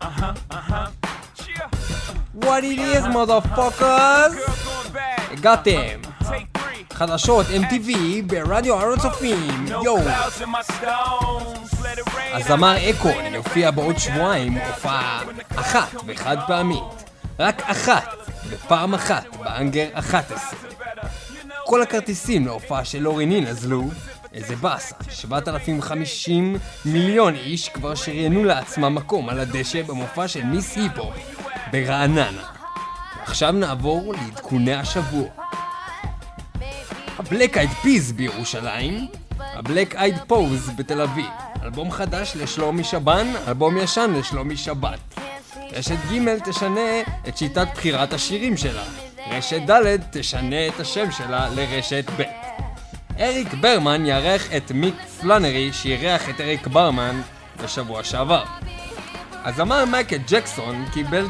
What it is, motherfuckers? הגעתם. חדשות MTV ברדיו הר הצופים. יו. הזמר אקון יופיע בעוד שבועיים הופעה אחת וחד פעמית. רק אחת ופעם אחת באנגר 11. כל הכרטיסים להופעה של לורי נין נזלו. איזה באסה, 7,050 מיליון איש כבר שריינו לעצמם מקום על הדשא במופע של מיס היפ-הופ ברעננה. עכשיו נעבור לעדכוני השבוע. הבלק אייד פיז בירושלים, הבלק אייד פוז בתל אביב, אלבום חדש לשלומי שבן, אלבום ישן לשלומי שבת. רשת ג' תשנה את שיטת בחירת השירים שלה, רשת ד' תשנה את השם שלה לרשת ב'. אריק ברמן יארח את מיק פלנרי שירח את אריק ברמן בשבוע שעבר. הזמר מייקל ג'קסון קיבל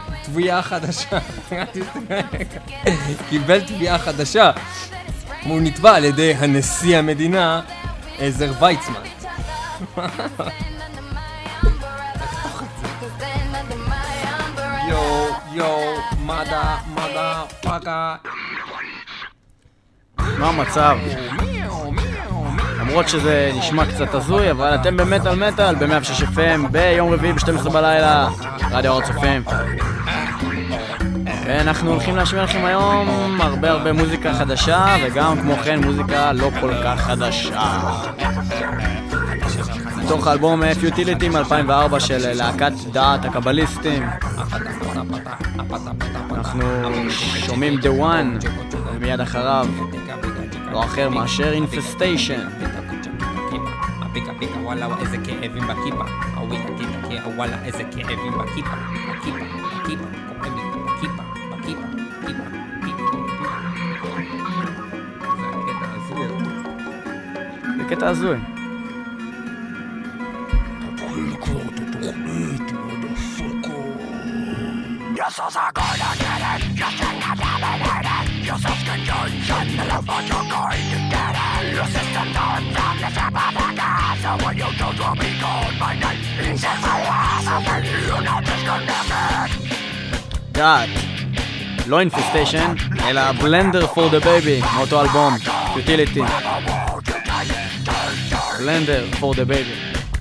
תביעה חדשה והוא נתבע על ידי הנשיא המדינה עזר ויצמן. יו מדה פאקה. מה המצב? למרות שזה נשמע קצת הזוי, אבל אתם במטל מטל ב-106 FM ביום רביעי ב-12 בלילה, רדיו הר הצופים. ואנחנו הולכים להשמיע לכם היום הרבה מוזיקה חדשה, וגם כמו כן מוזיקה לא כל כך חדשה. מתוך האלבום פיוטיליטי מ-2004 של להקת דעת הקבליסטים. אנחנו שומעים The One, ומיד אחריו לא אחר מאשר Infestation. וואלה איזה כאבים בכיפה, הווילה תתקה, וואלה איזה כאבים בכיפה, בכיפה, כואב לי בכיפה. זה קטע הזוי. Yes, I'm gonna get it. Yes, I'm gonna get it. Your self-confusion, the love what you're going to get it. Your system don't from the trap of the gas. So when you choose to be called by name, it's a philosophy. You're not disconnected. דעת, לא Infestation, אלא Blender for the Baby, מאותו אלבום, Futility. Blender for the Baby.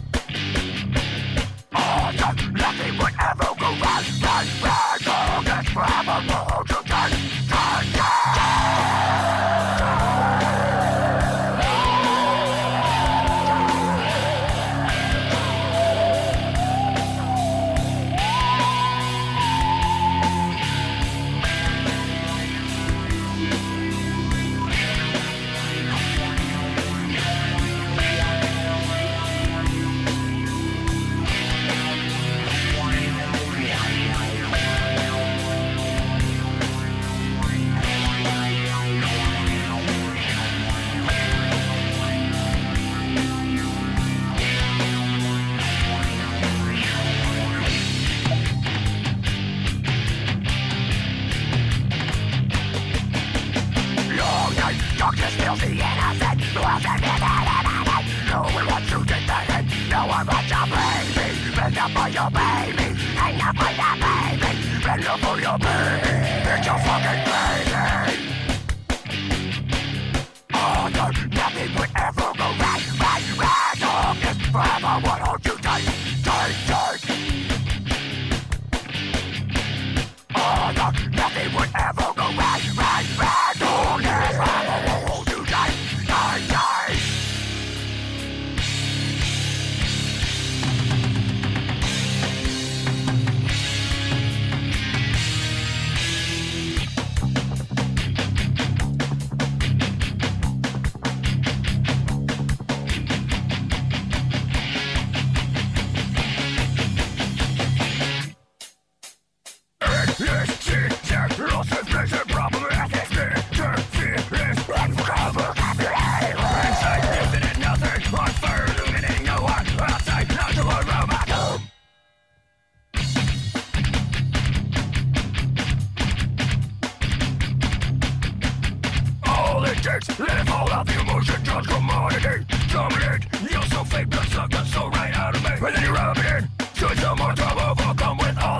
Live all of the emotion, just commodity. Dominate, you're so fake, blood suck the soul right out of me. And then you rub it in, should some more trouble overcome with all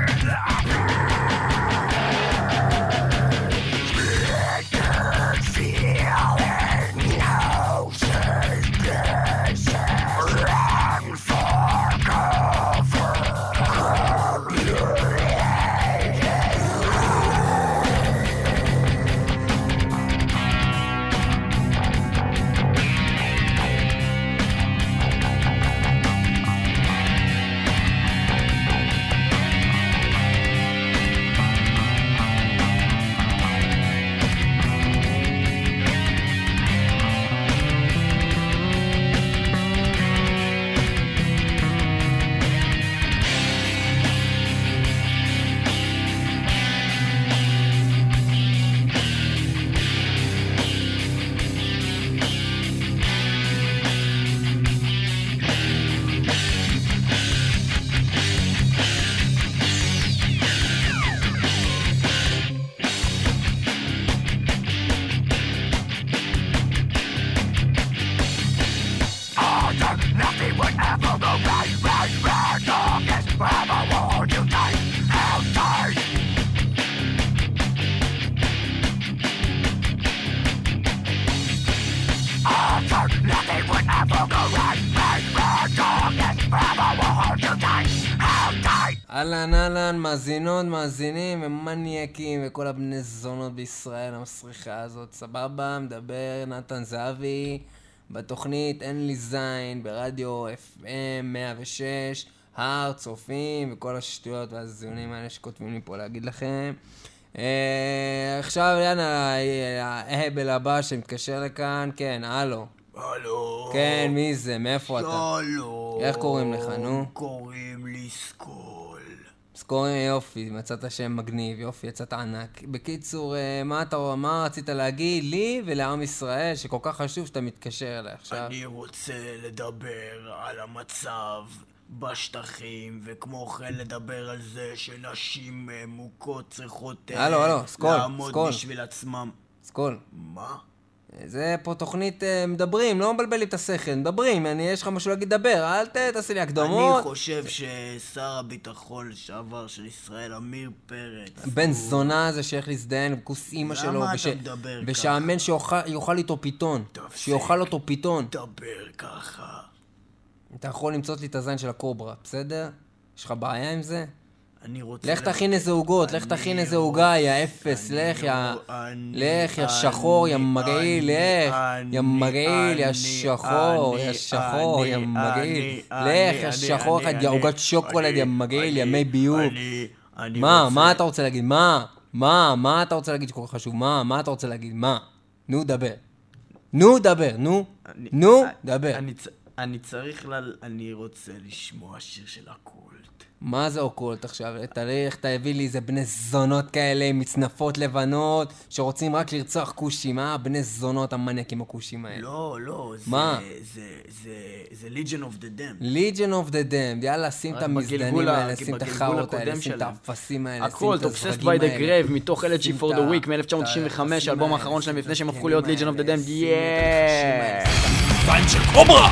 אהלן, מאזינות, מאזינים ומניאקים וכל הבני זונות בישראל המסריחה הזאת, סבבה, מדבר נתן זהבי בתוכנית אין לי זין ברדיו FM 106, הר, צופים וכל השטויות והזיונים האלה שכותבים לי פה להגיד לכם. עכשיו יאללה, ההבל הבא שמתקשר לכאן, כן, הלו. הלו. כן, מי זה? מאיפה אתה? שלום. איך קוראים לך, נו? קוראים לי סקול. סקול, יופי, מצאת שם מגניב, יופי, יצאת ענק. בקיצור, מה רצית להגיד לי ולעם ישראל שכל כך חשוב שאתה מתקשר אליי עכשיו? אני רוצה לדבר על המצב בשטחים, וכמו כן לדבר על זה שנשים מוכות צריכות לעמוד בשביל עצמם. סקול. מה? זה פה תוכנית מדברים, לא מבלבלים את השכל, מדברים, יש לך משהו להגיד דבר, אל תעשי לי הקדומות. אני חושב ששר הביטחון לשעבר של ישראל, עמיר פרץ, בן זונה הזה שהולך להזדיין בכוס אימא שלו, למה אתה מדבר ככה? ושהאמן שיאכל איתו פיתון, שיאכל אותו פיתון. דבר ככה. אתה יכול למצוא לי את הזין של הקוברה, בסדר? יש לך בעיה עם זה? אני רוצה... לך תכין איזה עוגות, לך תכין איזה עוגה, יא אפס, לך יא שחור, יא מגעיל, לך, יא מגעיל, יא שחור, יא שחור, יא מגעיל, לך, יא שחור אחד, יא עוגת שוקולד, יא מגעיל, יא מי ביוב. מה אתה רוצה להגיד? מה אתה רוצה להגיד שכל חשוב? מה אתה רוצה להגיד? מה? נו, דבר. נו, דבר. אני רוצה לשמוע שיר של הקולט. מה זה אוקולט עכשיו? תלך, תביא לי איזה בני זונות כאלה, מצנפות לבנות, שרוצים רק לרצוח כושים, בני זונות המניאקים הכושים האלה. לא, מה? זה Legion of the Damned. Legion of the Damned, יאללה, שים את המזדנים האלה, שים את החרות האלה, שים את האפסים האלה, שים את הקולט, הזרגים Obsessed by the האלה. Grave, מתוך Elegy for the Week מ-1995, האלבום האחרון שלהם לפני שהם הפכו להיות Legion of the Damned, זין של קוברה!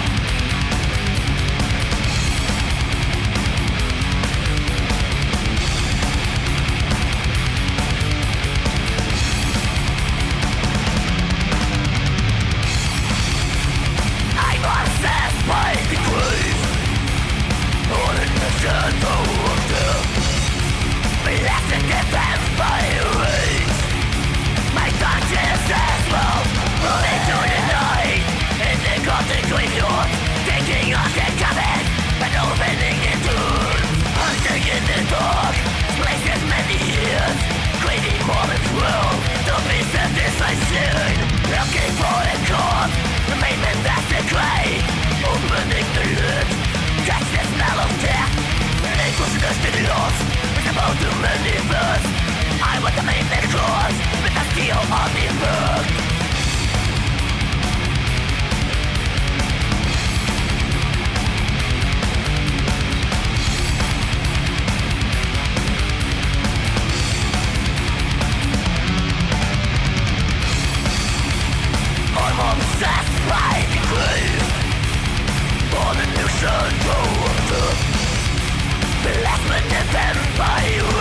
Last minute and by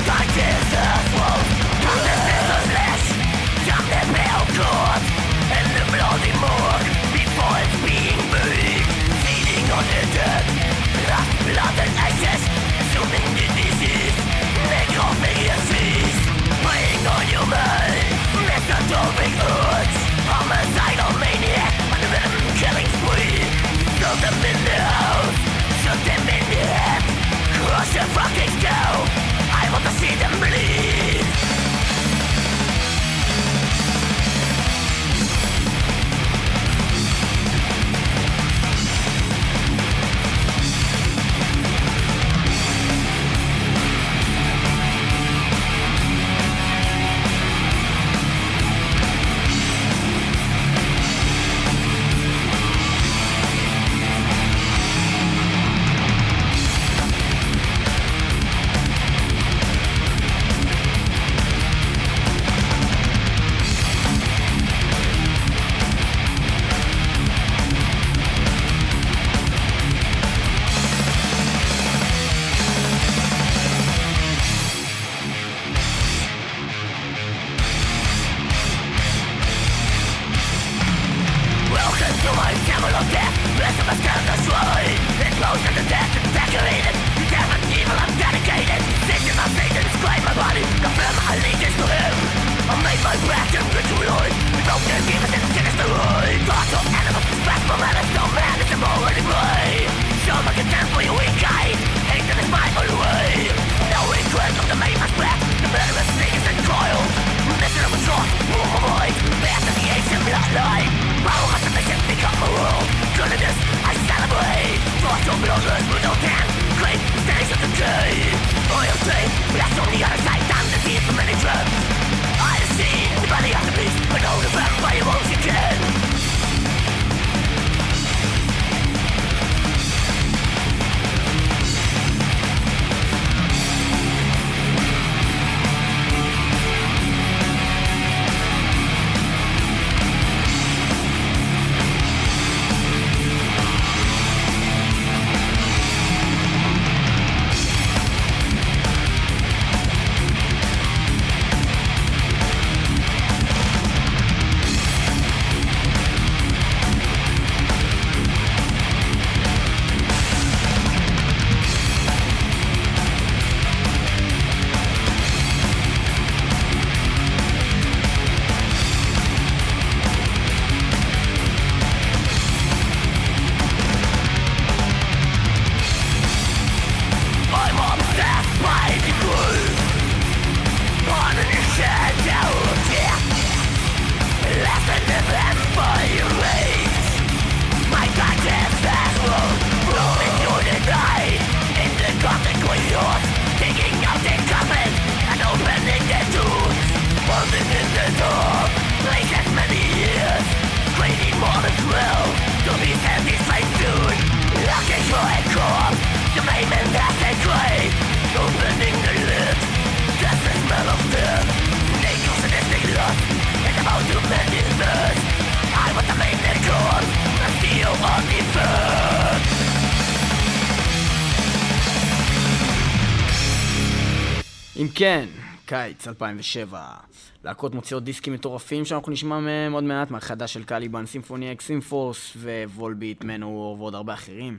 אם כן, קיץ 2007, להקות מוציאות דיסקים מטורפים שאנחנו נשמע מהם עוד מעט, מהחדש של קליבן, סימפוני אקס סימפורס ווולביט, מנוור ועוד הרבה אחרים.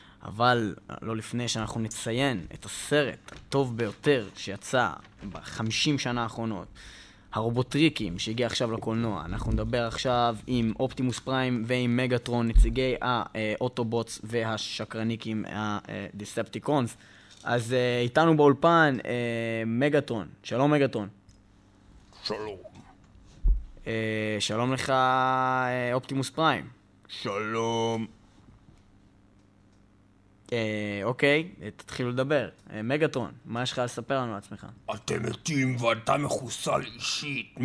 אבל לא לפני שאנחנו נציין את הסרט הטוב ביותר שיצא ב50 שנה האחרונות, הרובוטריקים שהגיע עכשיו לקולנוע. אנחנו נדבר עכשיו עם אופטימוס פריים ועם מגאטרון, נציגי האוטובוטס והשקרניקים הדיספטיקונס. אז איתנו באולפן מגאטרון. שלום מגאטרון. שלום. שלום לך אופטימוס פריים. שלום. אוקיי, תתחילו לדבר. מגאטרון, מה יש לך לספר לנו לעצמך? אתם מתים ואתה מחוסל אישית.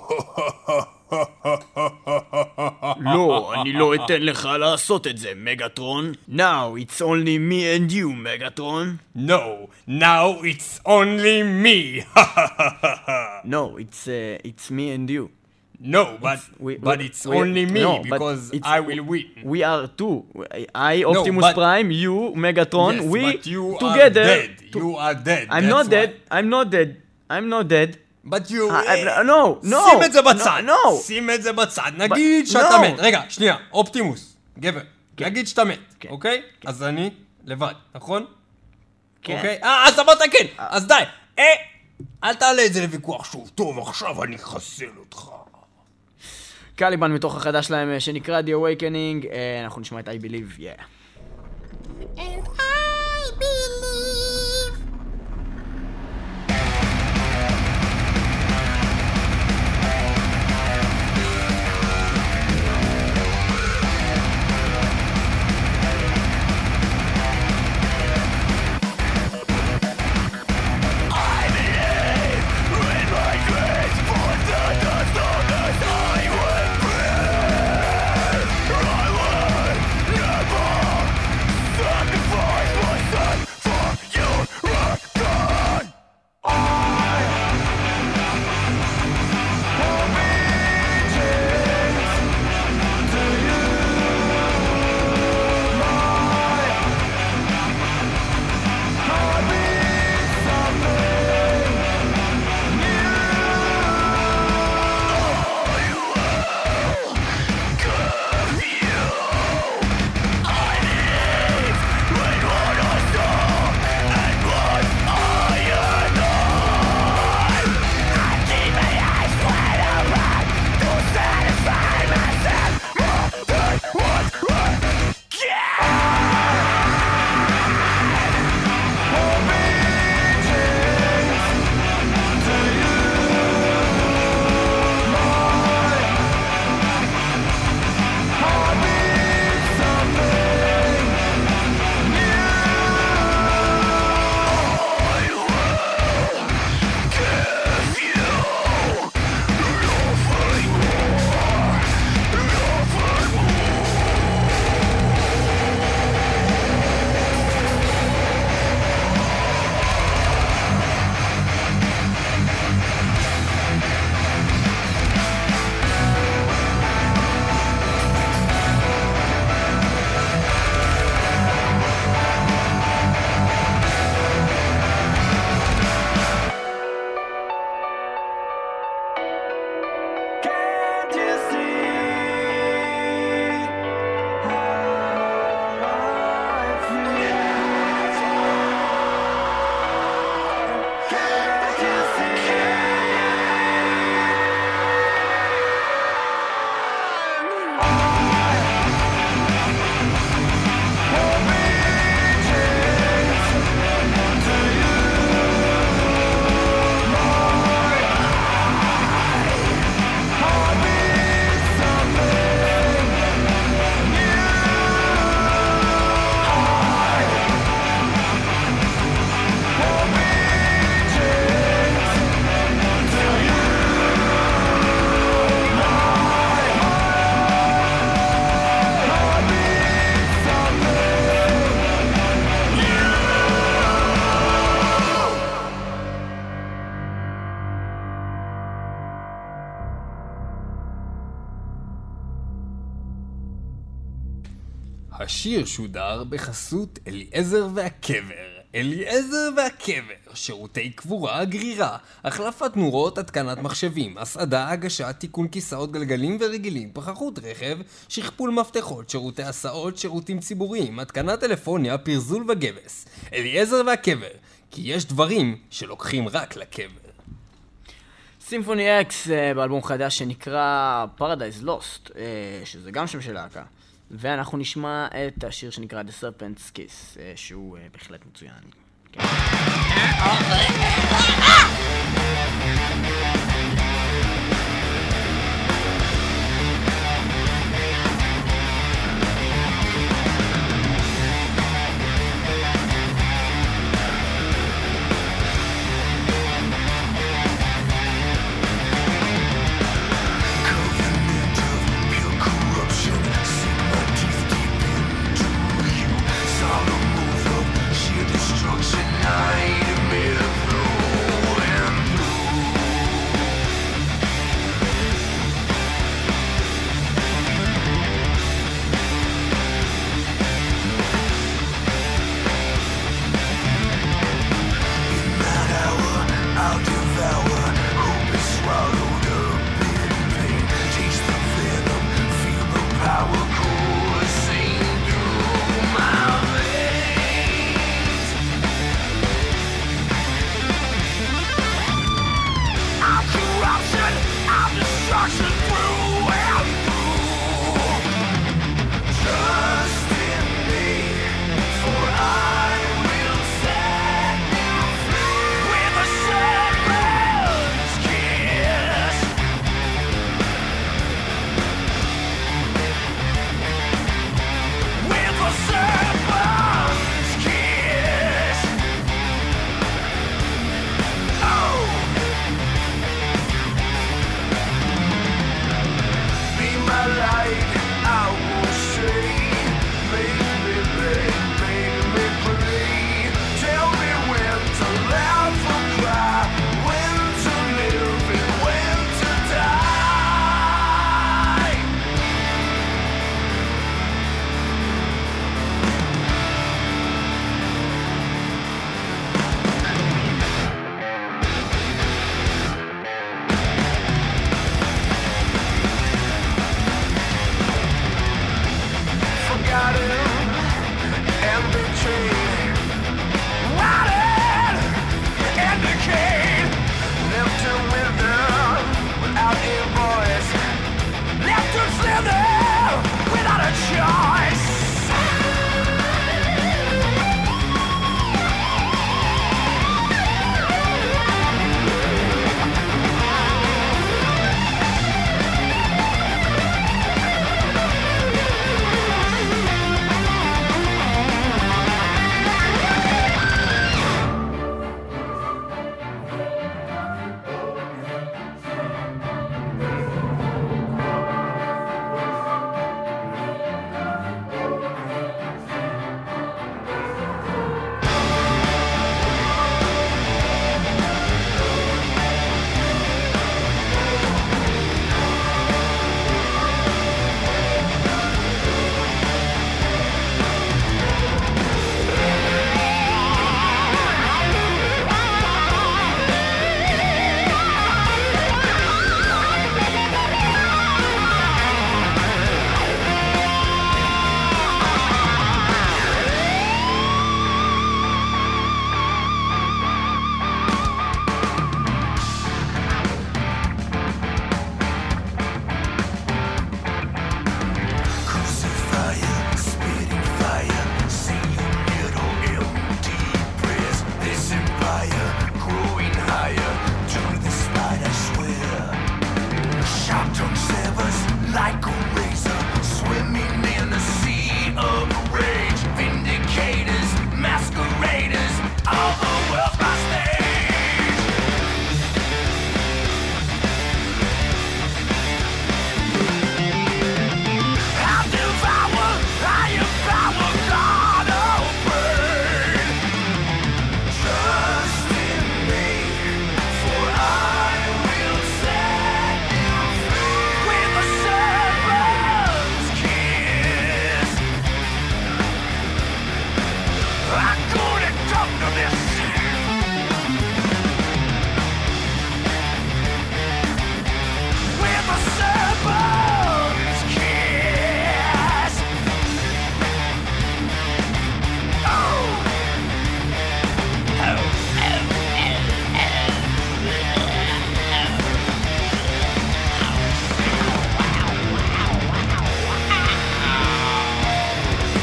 לא, אני לא אתן לך לעשות את זה, מגאטרון. Now it's only me and you, מגאטרון. No, now it's only me. No, it's me and you. No, but it's only me, because I will win. We are two. I, Optimus Prime, you, Megatron, yes, we but you together. Are dead. You are dead. I'm not dead. I'm not dead. I'm not dead. But you... No. שים את זה בצד. No. שים את זה בצד. נגיד שאתה מת. רגע, שנייה. אופטימוס. גבר. נגיד שאתה מת. אוקיי? אז אני לבד. נכון? כן. אוקיי? אז אמרת כן. אז די. אל תעלה את זה לוויכוח שוב. טוב, עכשיו אני אחסל אותך. קליבן מתוך החדש להם שנקרא The Awakening. אנחנו נשמע את I Believe. Yeah. And I believe. השיר שודר בחסות אליעזר והקבר. אליעזר והקבר, שירותי קבורה, גרירה, החלפת נורות, התקנת מחשבים, הסעדה, הגשה, תיקון כיסאות גלגלים ורגילים, פחחות רכב, שכפול מפתחות, שירותי הסעות, שירותים ציבוריים, התקנת טלפוניה, פרזול וגבס. אליעזר והקבר, כי יש דברים שלוקחים רק לקבר. סימפוני אקס באלבום חדש שנקרא Paradise Lost, שזה גם שם של להקה. ואנחנו נשמע את השיר שנקרא The Serpent's Kiss, שהוא בהחלט מצוין. Destruction, nightmare through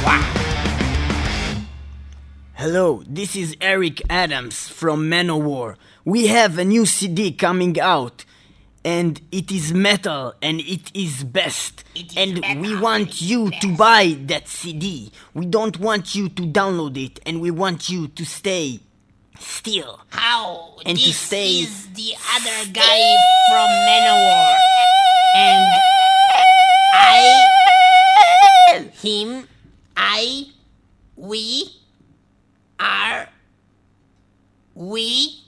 Hello, this is Eric Adams from Manowar. We have a new CD coming out, and it is metal, and it is best. We want you to buy that CD. We don't want you to download it, and we want you to stay still. How? And this to stay is the other guy from Manowar. And him, we are, we.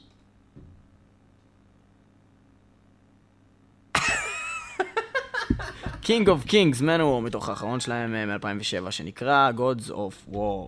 King of Kings, Manowar, מתוך האחרון שלהם מ-2007, שנקרא Gods of War.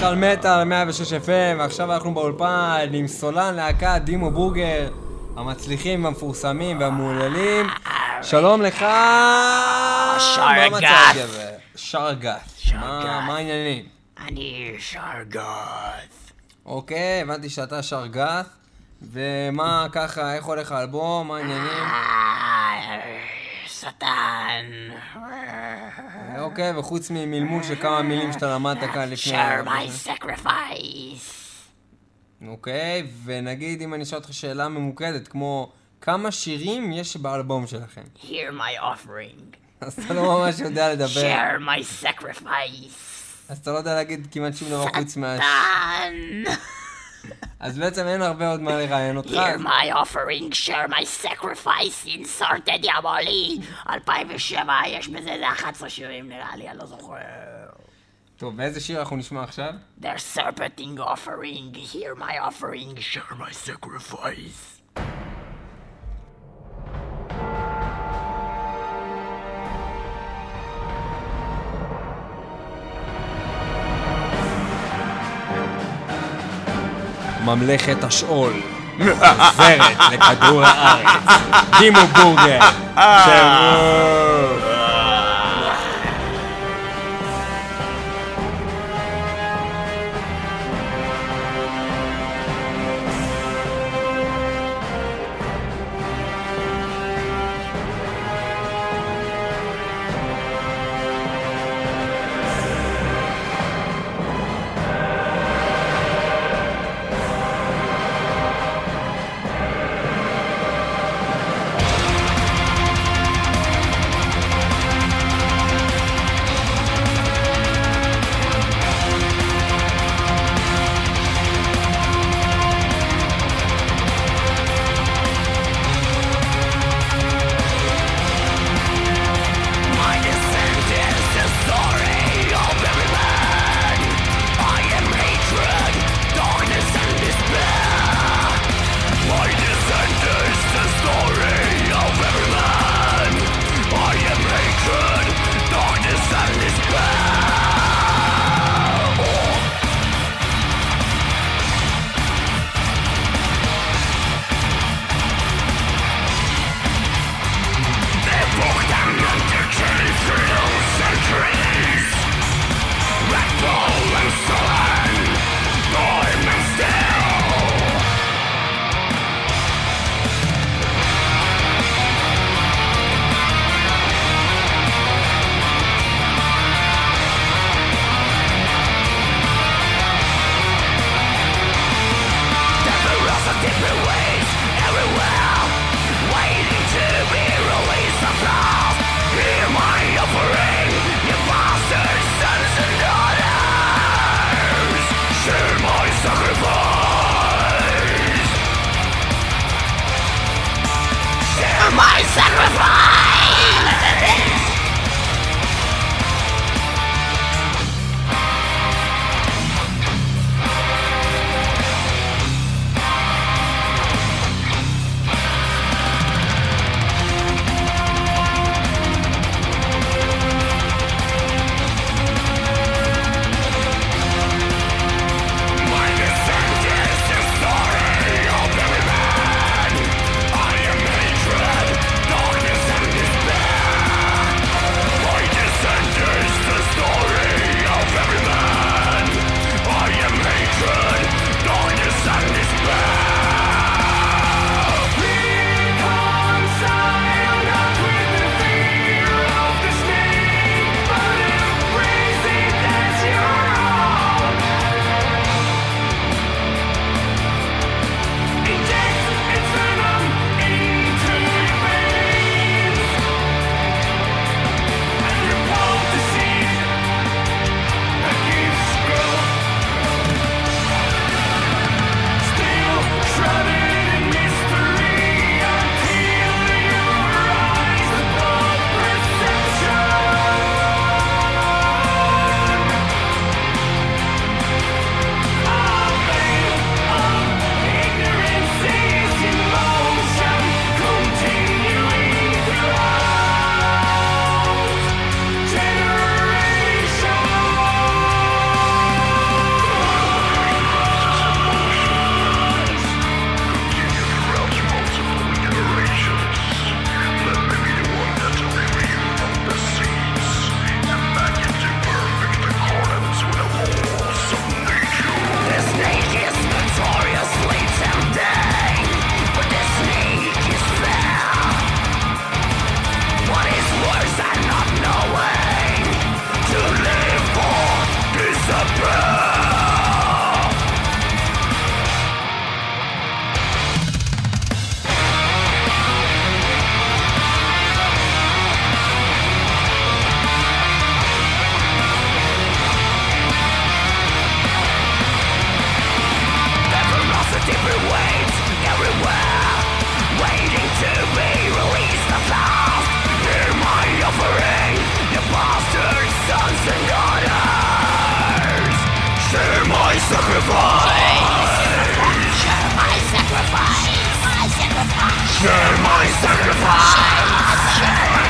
על מטל 106 FM, ועכשיו אנחנו באולפן עם סולן להקת דימו בורגר, המצליחים והמפורסמים והמעוללים. שלום לך. שרגת. שרגת. מה העניינים? אני שרגת. אוקיי, הבנתי שאתה שרגת. ומה ככה, איך הולך האלבום? מה העניינים? שטן. אוקיי, וחוץ ממלמול של כמה מילים שאתה למדת כאן לפני... Share my sacrifice. אוקיי, ונגיד אם אני אשאל אותך שאלה ממוקדת, כמו כמה שירים יש באלבום שלכם? Hear my offering. אז אתה לא ממש יודע לדבר. Share my sacrifice. אז אתה לא יודע להגיד כמעט שום דבר חוץ מה... שטן. אז בעצם אין הרבה עוד מה לראיין אותך. Hear my offering, share my sacrifice, insert דיאבולי. 2007, יש בזה 11 שירים נראה לי, אני לא זוכר. טוב, ואיזה שיר אנחנו נשמע עכשיו? Their serpenting offering, hear my offering, share my sacrifice. ממלכת השאול עוברת לכדור הארץ. דימו בורגר. My sacrifice! Darkness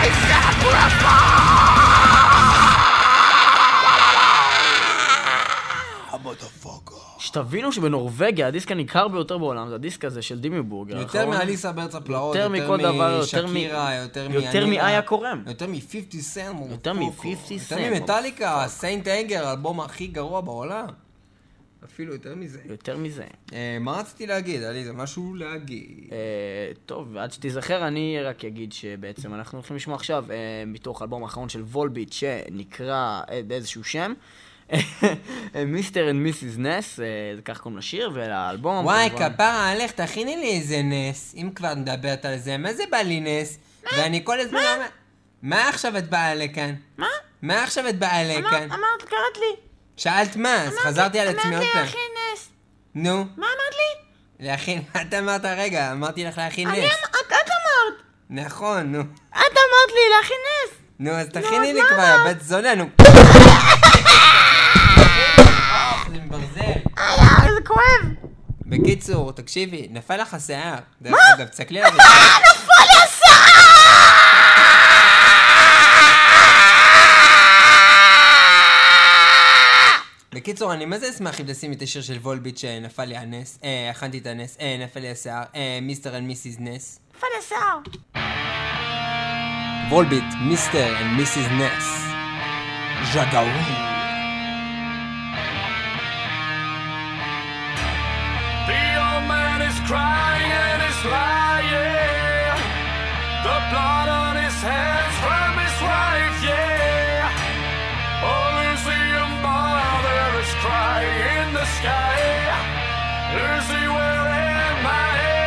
שתבינו שבנורווגיה הדיסק הניקר ביותר בעולם זה הדיסק הזה של דימי בורגר. יותר מאליסה בארץ הפלאות, יותר מכל דבר, משקירה, יותר מאיה קורם. יותר מ-50 סנט, יותר מ-50 סנט. יותר ממטאליקה, סיינט אנגר, האלבום הכי גרוע בעולם. אפילו יותר מזה. יותר מזה. מה רציתי להגיד? היה לי זה משהו להגיד. טוב, עד שתיזכר אני רק אגיד שבעצם אנחנו הולכים לשמוע עכשיו מתוך האלבום האחרון של וולביט שנקרא באיזשהו שם. מיסטר אנד מיסיס נס, זה כך קוראים לשיר, ולאלבום... וואי, כפרה עליך, תכיני לי איזה נס, אם כבר נדברת על זה, מה זה בא לי נס? ואני כל הזמן... מה עכשיו את באה לכאן? מה? מה עכשיו את באה לכאן? אמרת, קראת לי. שאלת מה? אז חזרתי על עצמי עוד פעם. אמרתי להכין נס. נו. מה אמרת לי? להכין... את אמרת רגע, אמרתי לך להכין נס. את אמרת. נכון, נו. את אמרת לי להכין נס. נו, אז תכיני לי כבר, בת זונה, נו. זה מברזל. זה כואב. בקיצור, תקשיבי, נפל לך השיער. דרך אגב, תסתכלי על זה. נפל לי השיער! בקיצור, אני מה זה אשמח אם תשימי את השיר של וולביט שנפל לי הנס. הכנתי את הנס. נפל לי השיער. מיסטר אנד מיסיס נס. נפל לי השיער. וולביט, מיסטר אנד מיסיס נס. ז'גאווי. Crying and he's lying, the blood on his hands from his wife, yeah. Oh, Lucy, your mother is crying in the sky. Lucy, where am I?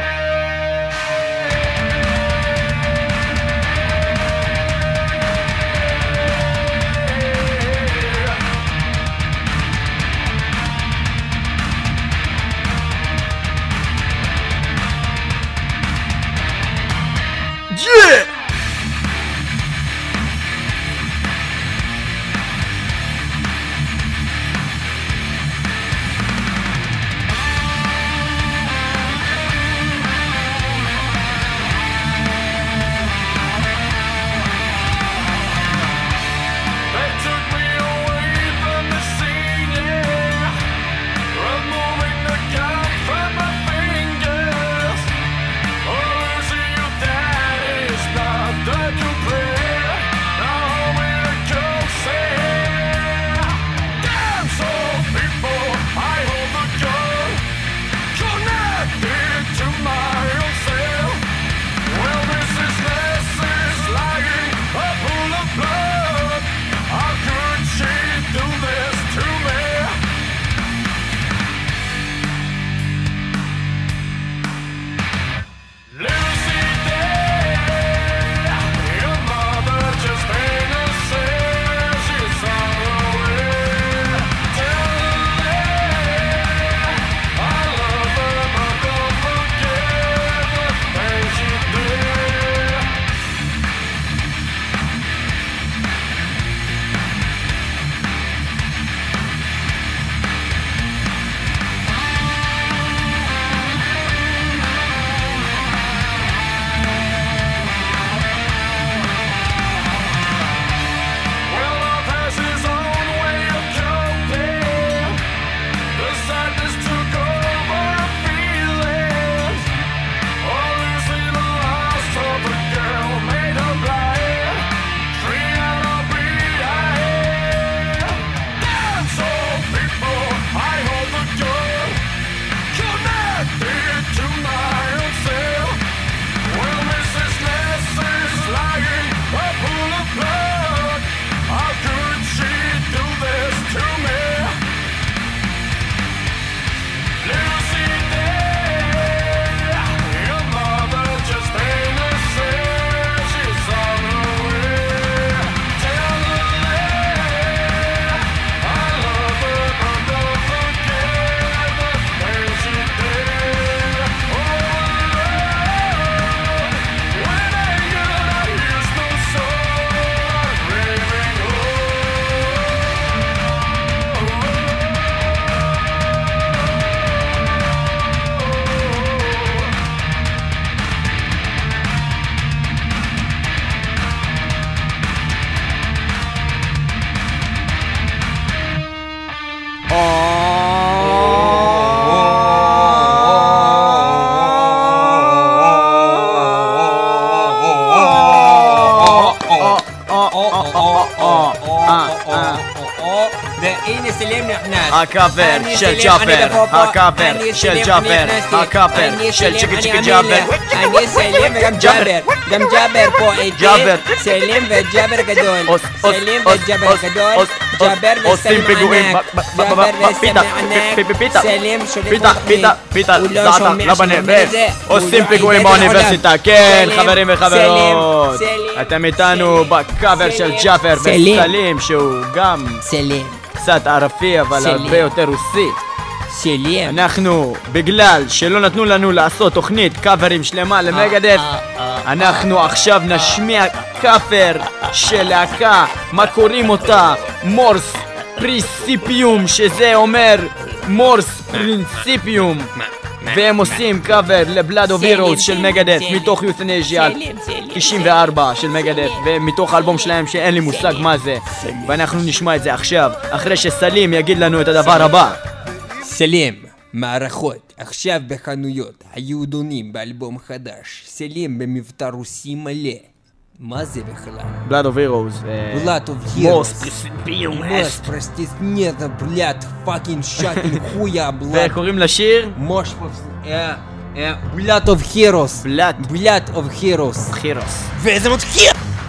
Yeah! It's not והנה סלים נכנס. הקאבר של ג'אבר, הקאבר של ג'אבר, הקאבר של צ'יקי צ'יקי ג'אבר. אני סלים וגם ג'אבר, גם ג'אבר פה איתי. סלים וג'אבר גדול. סלים וג'אבר גדול. ג'אבר וסלים ענק. ג'אבר וסלים ענק. סלים שולט פיתה, זעתך בנבס. עושים פיגועים באוניברסיטה, כן חברים וחברות. אתם איתנו בקאבר של ג'אבר וסלים שהוא גם סלים. קצת ערפי אבל הרבה יותר רוסי. סלים. אנחנו, בגלל שלא נתנו לנו לעשות תוכנית קאברים שלמה למגדף, אנחנו עכשיו נשמיע קאבר של להקה, מה קוראים אותה? מורס פרינסיפיום, שזה אומר מורס פרינסיפיום, והם עושים קאבר לבלאד אוף הירוס של מגדף מתוך יות'נזיה 94 של מגדף, ומתוך האלבום שלהם שאין לי מושג מה זה, ואנחנו נשמע את זה עכשיו אחרי שסלים יגיד לנו את הדבר הבא. סלים, מערכות, עכשיו בחנויות, היהודונים באלבום חדש, סלים במבטא רוסי מלא. מה זה בכלל? בלאד אוף הירוס. בלאד אוף הירוס. מוס פרסטיסנטה, בלאד פאקינג שטין חויה, בלאד. וקוראים לשיר? מוש בלאד אוף הירוס. בלאד אוף הירוס. וזה מתחיל!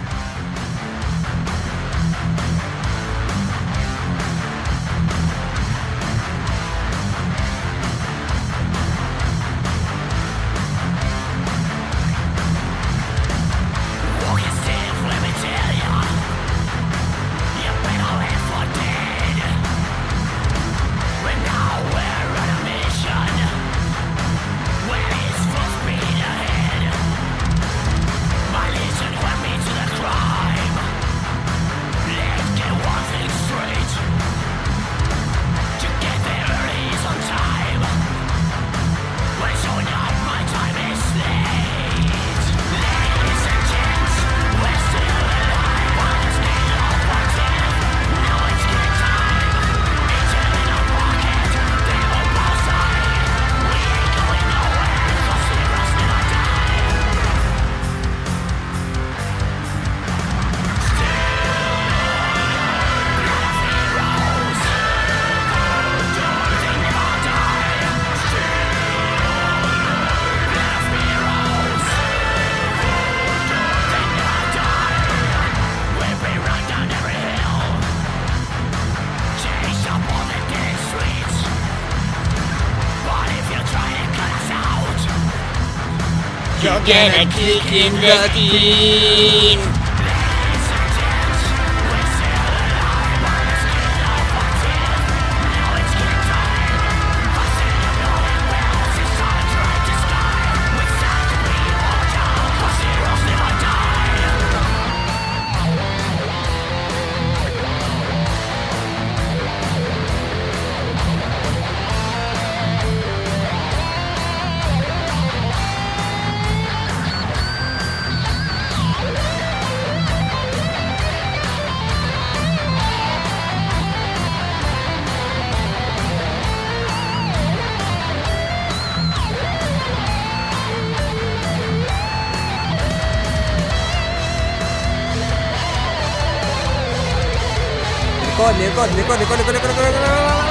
You're gonna kick in the teeth. לרקוד.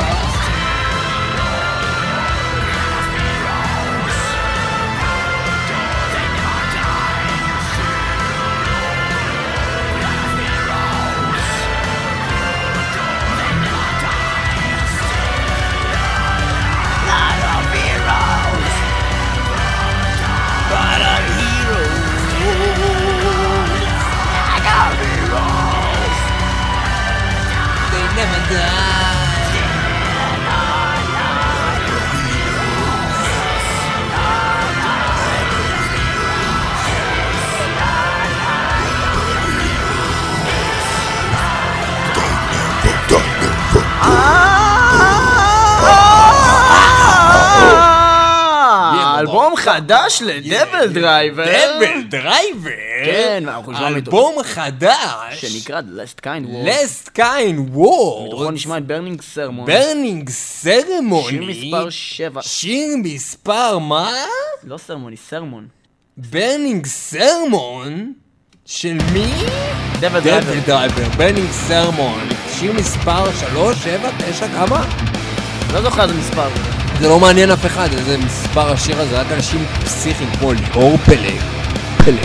אלבום חדש לדבל דרייבר. דבל דרייבר? כן, אלבום חדש שנקרא Last Kind Wars. Last Kind Wars. מתוכו נשמע את ברנינג סרמון. ברנינג סרמוני. שיר מספר 7. שיר מספר מה? לא סרמוני, סרמון. ברנינג סרמון? של מי? דבל דרייבר, ברנינג סרמון, שיר מספר 3, 7, 9, כמה? לא זוכר איזה מספר. זה לא מעניין אף אחד, איזה מספר השיר הזה, רק אנשים פסיכיים כמו ליאור פלג. פלג.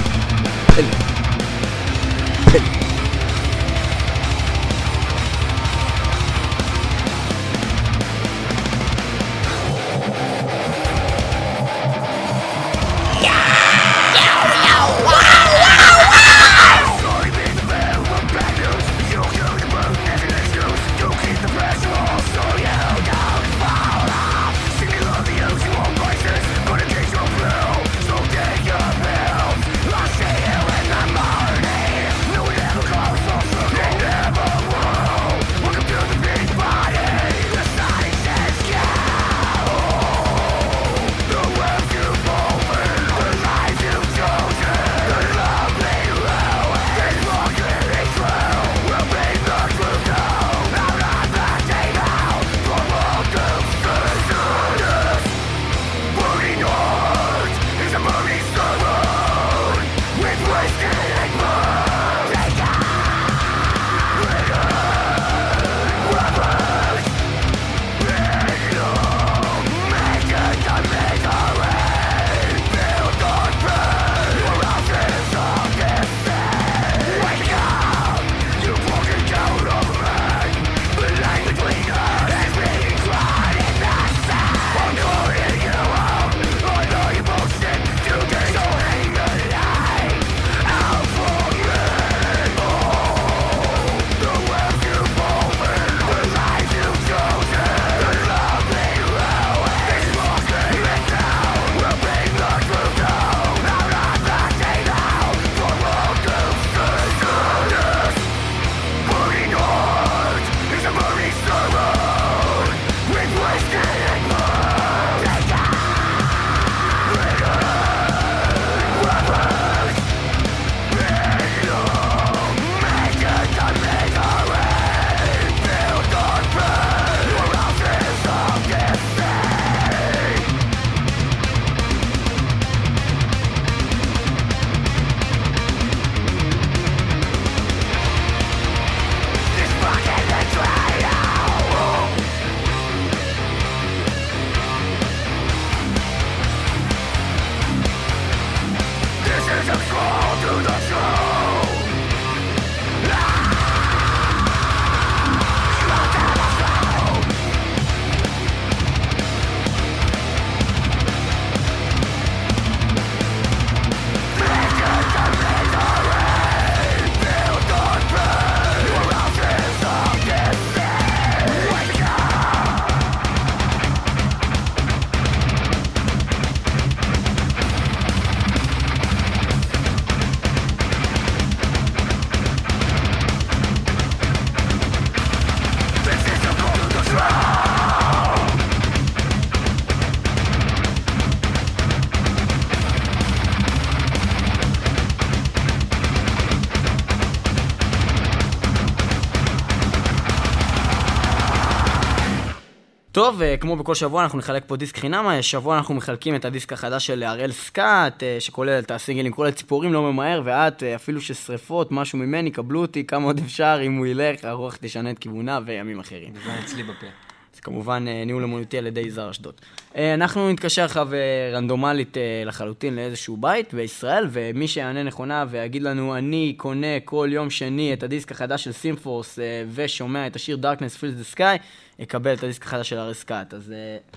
טוב, כמו בכל שבוע אנחנו נחלק פה דיסק חינם. שבוע אנחנו מחלקים את הדיסק החדש של הראל סקאט, שכולל את הסינגלים, כל הציפורים לא ממהר, ואת אפילו ששריפות, משהו ממני, קבלו אותי, כמה עוד אפשר, אם הוא ילך, הרוח תשנה את כיוונה וימים אחרים. זה אצלי בפה. זה כמובן ניהול אמנותי על ידי יזהר אשדוד. אנחנו נתקשר עכשיו רנדומלית לחלוטין לאיזשהו בית בישראל, ומי שיענה נכונה ויגיד לנו, אני קונה כל יום שני את הדיסק החדש של סימפורס ושומע את השיר Darkness Fills the Sky, יקבל את הדיסק החדש של הראל סקאט. אז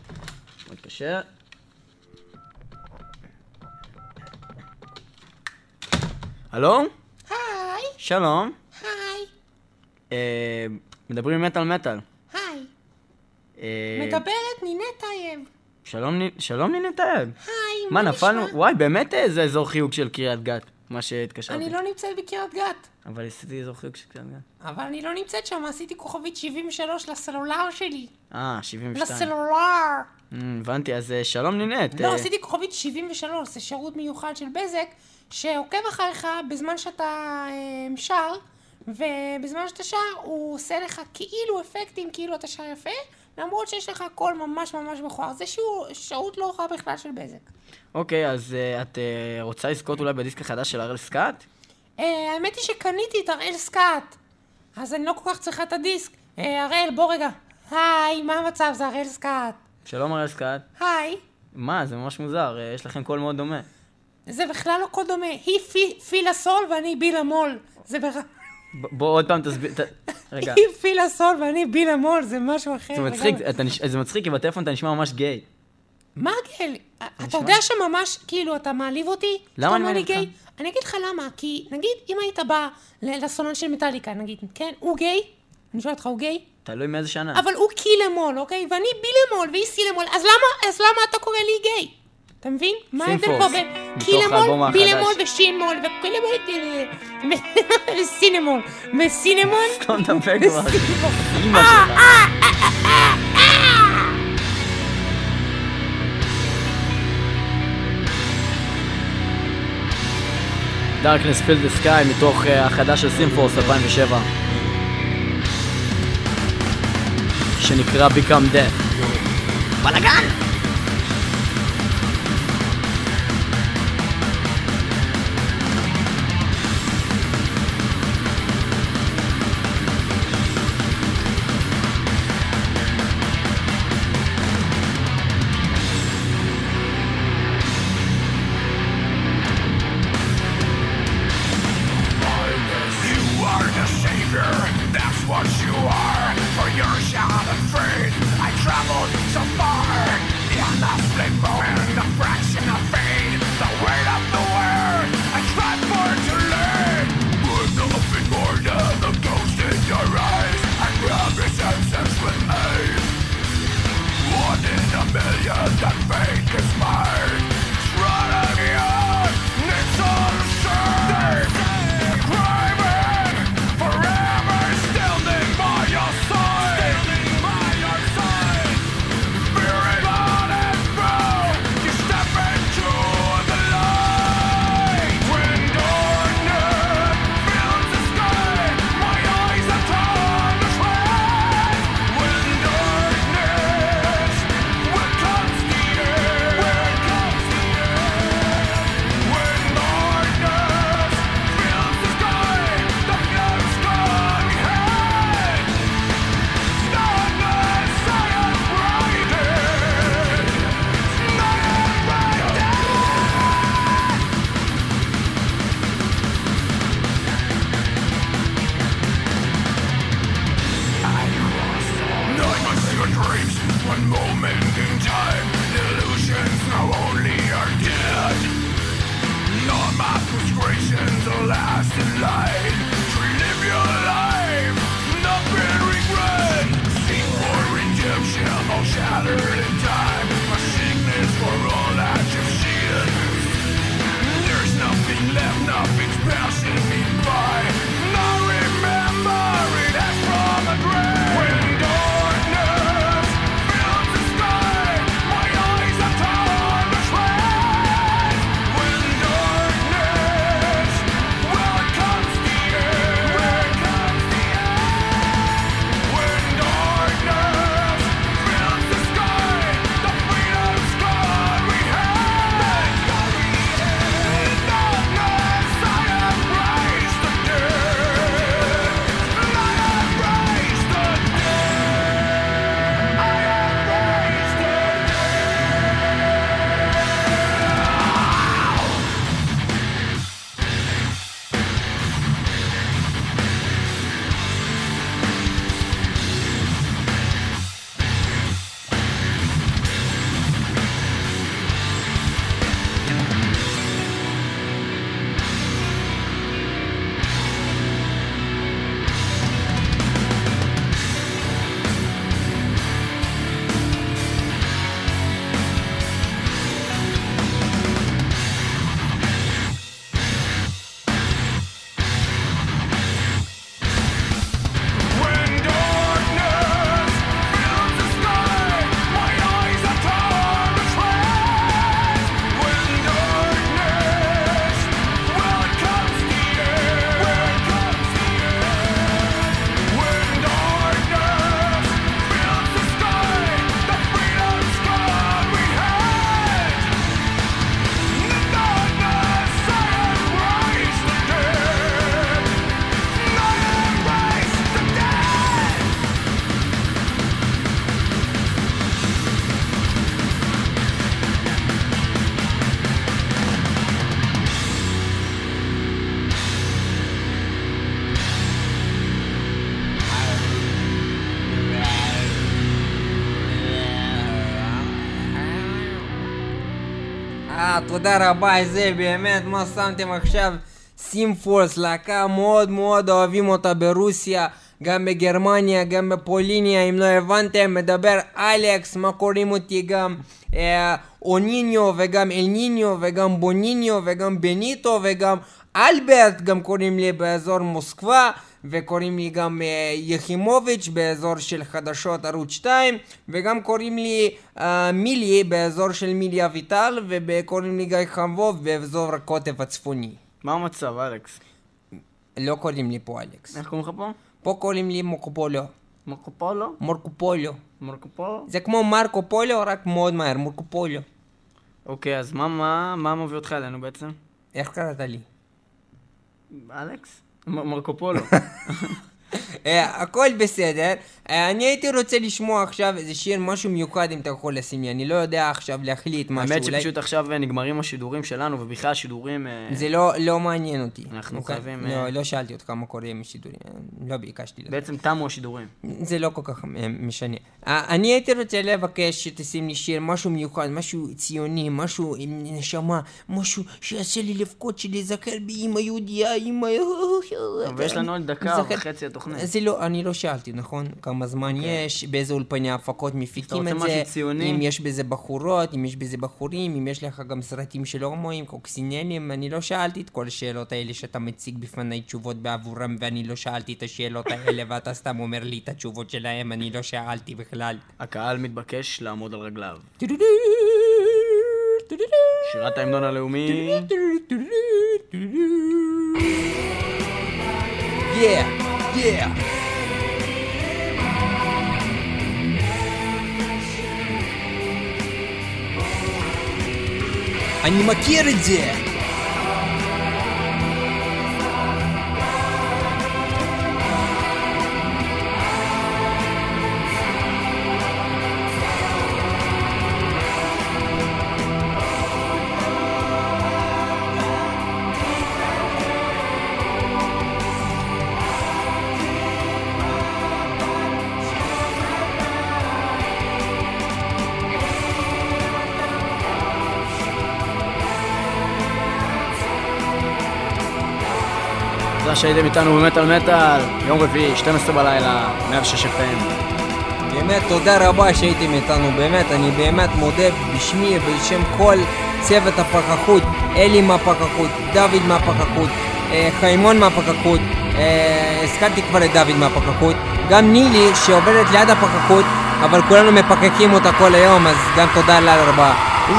נתקשר. הלו? היי. שלום. היי. מדברים מטל מטל. היי. מדברת נינת טייב. שלום נינת טייב. היי, מה נפלנו? וואי, באמת זה אזור חיוג של קריית גת, מה שהתקשרתי. אני לא נמצאת בקריית גת. אבל עשיתי אזור חיוג של קריית גת. אבל אני לא נמצאת שם, עשיתי כוכבית 73 לסלולר שלי. 72. לסלולר. הבנתי, אז שלום נינת. לא, עשיתי כוכבית 73, זה שירות מיוחד של בזק, שעוקב אחריך בזמן שאתה שר, ובזמן שאתה שר הוא עושה לך כאילו אפקטים, כאילו אתה שר יפה, למרות שיש לך קול ממש ממש מכוער. זה שירות לא רע בכלל של בזק. אוקיי, אז את רוצה לזכות אולי בדיסק החדש של הראל סקאט? האמת היא שקניתי את הראל סקאט, אז אני לא כל כך צריכה את הדיסק. הראל, בוא רגע. היי, מה המצב? זה הראל סקאט. שלום הראל סקאט. היי. מה, זה ממש מוזר, יש לכם קול מאוד דומה. זה בכלל לא קול דומה. היא פילה סול ואני בילה מול. זה בוא עוד פעם תסביר, רגע. היא פילה סול ואני בילה מול, זה משהו אחר. זה מצחיק, כי בטלפון אתה נשמע ממש גיי. מה גיי? אתה יודע שממש, כאילו, אתה מעליב אותי? למה אני מעליב אותך? אני אגיד לך למה, כי נגיד, אם היית בא לסולן של מטליקה, נגיד, כן, הוא גיי? אני שואלת אותך, הוא גיי? תלוי מאיזה שנה. אבל הוא קילה-מול, אוקיי? ואני בילה-מול, והיא סילה-מול, אז למה אתה קורא לי גיי? אתה מבין? מה ההבדל פה בין קילה-מול, בילה-מול ושים-מול, וקילה-מול וסינמול, וסינמון? סתום דפק כבר. אמא שלך. Darkness Fill the Sky מתוך החדש של סימפורס 2007 שנקרא Become Death. בלגן! תודה רבה, זה באמת, מה שמתם עכשיו? סימפורס, להקה מאוד מאוד אוהבים אותה ברוסיה, גם בגרמניה, גם בפוליניה, אם לא הבנתם, מדבר אלכס, מה קוראים אותי גם אוניניו וגם אלניניו וגם בוניניו וגם בניטו וגם אלברט, גם קוראים לי באזור מוסקבה, וקוראים לי גם יחימוביץ' באזור של חדשות ערוץ 2, וגם קוראים לי מילי באזור של מילי אביטל, וקוראים לי גיא חמבוב באזור הקוטב הצפוני. מה המצב, אלכס? לא קוראים לי פה אלכס. איך קוראים לך פה? פה קוראים לי מורקופולו. מורקופולו? מורקופולו. מורקופולו? זה כמו מרקו פולו, רק מאוד מהר, מורקופולו. אוקיי, אז מה מביא אותך אלינו בעצם? איך קראת לי? אלכס? מרקופולו. הכל בסדר. אני הייתי רוצה לשמוע עכשיו איזה שיר, משהו מיוחד אם אתה יכול לשים לי. אני לא יודע עכשיו להחליט משהו. האמת שפשוט עכשיו נגמרים השידורים שלנו, ובכלל השידורים... זה לא מעניין אותי. אנחנו חייבים... לא שאלתי אותך מה קורה עם השידורים. לא ביקשתי לך. בעצם תמו השידורים. זה לא כל כך משנה. אני הייתי רוצה לבקש שתשים לי שיר, משהו מיוחד, משהו ציוני, משהו עם נשמה, משהו שיעשה לי לבכות שלהיזכר באמא יהודיה, אמא... ויש לנו עוד דקה וחצי התוכנית. זה לא, אני לא שאלתי, נכון? כמה זמן יש, באיזה אולפני הפקות מפיקים את זה, אם יש בזה בחורות, אם יש בזה בחורים, אם יש לך גם סרטים של הומואים, קוקסינלים, אני לא שאלתי את כל השאלות האלה שאתה מציג בפני תשובות בעבורם, ואני לא שאלתי את השאלות האלה, ואתה סתם אומר לי את התשובות שלהם, אני לא שאלתי בכלל. הקהל מתבקש לעמוד על רגליו. שירת ההמנון הלאומי. Yeah. אני מכיר את זה. שהייתם איתנו במטל מטל, יום רביעי, 12 בלילה, 106 FM. באמת תודה רבה שהייתם איתנו, באמת, אני באמת מודה בשמי ובשם כל צוות הפקחות, אלי מהפקחות, דוד מהפקחות, חיימון מהפקחות, הזכרתי כבר את דוד מהפקחות, גם נילי שעובדת ליד הפקחות, אבל כולנו מפקקים אותה כל היום, אז גם תודה לה רבה.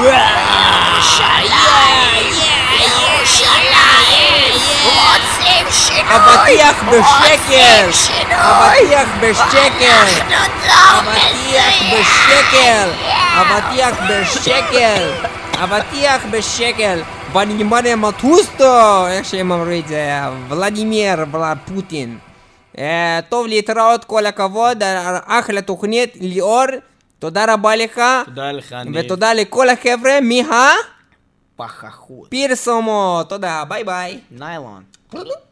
אבטיח בשקל! אבטיח בשקל! אבטיח בשקל! אבטיח בשקל! אבטיח בשקל! ונימריה מטוסטו! איך שהם אמרו את זה? ולדימיר פוטין. טוב, להתראות, כל הכבוד, אחלה תוכנית, ליאור, תודה רבה לך. תודה לך, ותודה לכל החבר'ה פחחות. פרסומות, תודה, ביי ביי. ניילון.